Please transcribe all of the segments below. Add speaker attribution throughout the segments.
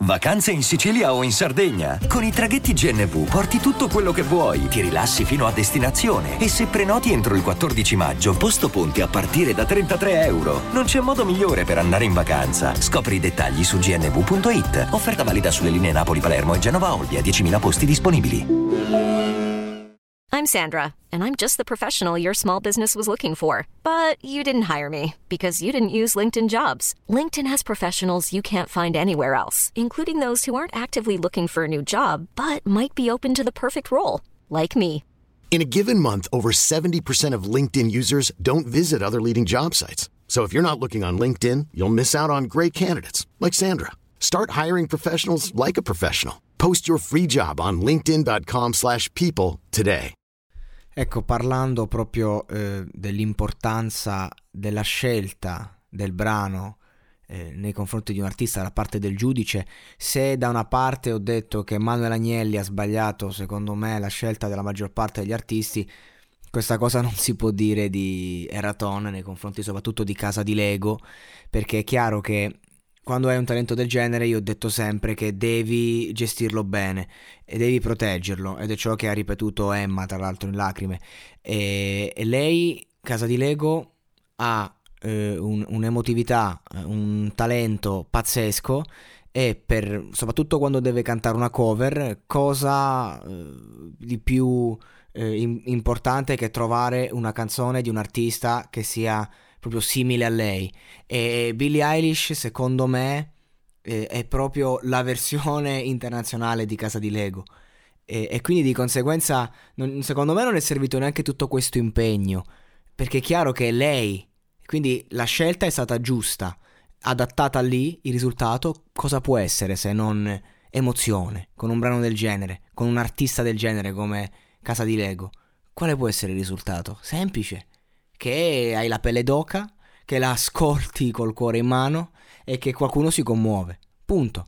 Speaker 1: Vacanze in Sicilia o in Sardegna? Con i traghetti GNV porti tutto quello che vuoi, ti rilassi fino a destinazione e se prenoti entro il 14 maggio, posto ponti a partire da €33. Non c'è modo migliore per andare in vacanza. Scopri i dettagli su gnv.it. Offerta valida sulle linee Napoli-Palermo e Genova-Olbia, 10.000 posti disponibili.
Speaker 2: I'm Sandra, and I'm just the professional your small business was looking for. But you didn't hire me because you didn't use LinkedIn Jobs. LinkedIn has professionals you can't find anywhere else, including those who aren't actively looking for a new job, but might be open to the perfect role, like me.
Speaker 3: In a given month, over 70% of LinkedIn users don't visit other leading job sites. So if you're not looking on LinkedIn, you'll miss out on great candidates like Sandra. Start hiring professionals like a professional. Post your free job on linkedin.com/people today.
Speaker 4: Ecco, parlando proprio dell'importanza della scelta del brano nei confronti di un artista da parte del giudice, se da una parte ho detto che Manuel Agnelli ha sbagliato, secondo me, la scelta della maggior parte degli artisti, questa cosa non si può dire di Eraton nei confronti soprattutto di Casa di Lego, perché è chiaro che quando hai un talento del genere io ho detto sempre che devi gestirlo bene e devi proteggerlo, ed è ciò che ha ripetuto Emma, tra l'altro, in Lacrime. E lei, Casa di Lego, ha un'emotività, un talento pazzesco, e soprattutto quando deve cantare una cover, cosa di più importante che trovare una canzone di un artista che sia proprio simile a lei. E Billie Eilish, secondo me, è proprio la versione internazionale di Casa di Lego, e quindi di conseguenza secondo me non è servito neanche tutto questo impegno, perché è chiaro che è lei, quindi la scelta è stata giusta, adattata lì. Il risultato cosa può essere se non emozione? Con un brano del genere, con un artista del genere come Casa di Lego, quale può essere il risultato? Semplice: che hai la pelle d'oca, che la ascolti col cuore in mano e che qualcuno si commuove. Punto.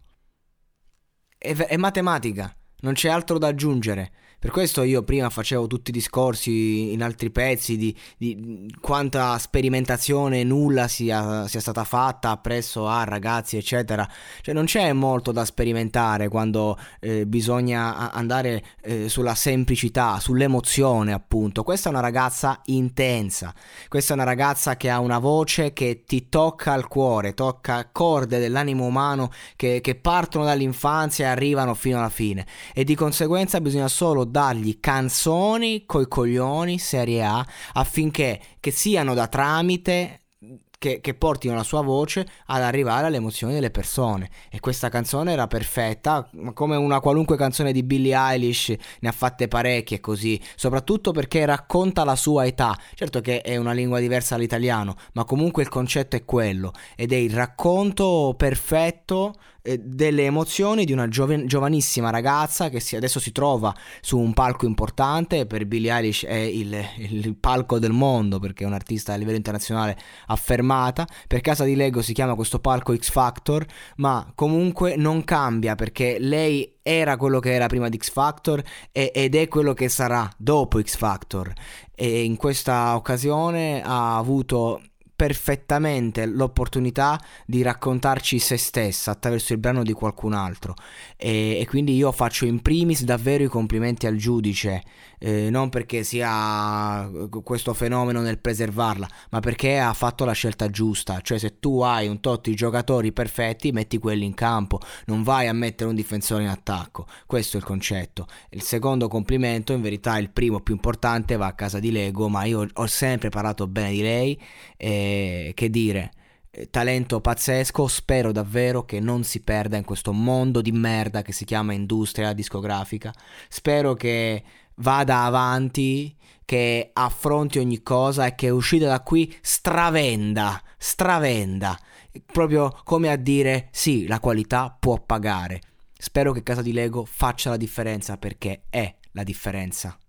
Speaker 4: È matematica, non c'è altro da aggiungere. Per questo io prima facevo tutti i discorsi in altri pezzi di quanta sperimentazione nulla sia stata fatta presso a ragazzi, eccetera. Cioè non c'è molto da sperimentare quando bisogna andare sulla semplicità, sull'emozione, appunto. Questa è una ragazza intensa, questa è una ragazza che ha una voce che ti tocca al cuore, tocca corde dell'animo umano che partono dall'infanzia e arrivano fino alla fine, e di conseguenza bisogna solo dargli canzoni coi coglioni serie A affinché che siano da tramite che portino la sua voce ad arrivare alle emozioni delle persone. E questa canzone era perfetta, come una qualunque canzone di Billie Eilish, ne ha fatte parecchie così, soprattutto perché racconta la sua età. Certo che è una lingua diversa dall'italiano, ma comunque il concetto è quello, ed è il racconto perfetto delle emozioni di una giovanissima ragazza che adesso si trova su un palco importante. Per Billie Eilish è il palco del mondo, perché è un artista a livello internazionale affermata. Per Casa di Lego si chiama questo palco X Factor, ma comunque non cambia, perché lei era quello che era prima di X Factor ed è quello che sarà dopo X Factor, e in questa occasione ha avuto perfettamente l'opportunità di raccontarci se stessa attraverso il brano di qualcun altro, e quindi io faccio in primis davvero i complimenti al giudice, non perché sia questo fenomeno nel preservarla, ma perché ha fatto la scelta giusta. Cioè, se tu hai un tot di giocatori perfetti, metti quelli in campo, non vai a mettere un difensore in attacco. Questo è il concetto. Il secondo complimento, in verità il primo più importante, va a Casa di Lego, ma io ho sempre parlato bene di lei, che dire, talento pazzesco. Spero davvero che non si perda in questo mondo di merda che si chiama industria discografica. Spero che vada avanti, che affronti ogni cosa e che uscita da qui stravenda, proprio come a dire sì, la qualità può pagare. Spero che Casa di Lego faccia la differenza, perché è la differenza.